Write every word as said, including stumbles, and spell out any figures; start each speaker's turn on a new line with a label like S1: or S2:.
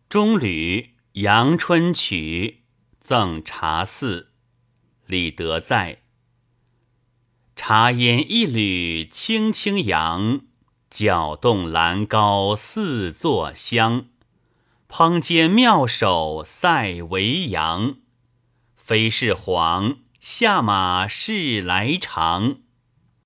S1: 中吕阳春曲赠茶肆，李德在。茶烟一缕轻轻扬，搅动兰高似作香。烹煎妙手赛为阳，非是黄，下马是来长。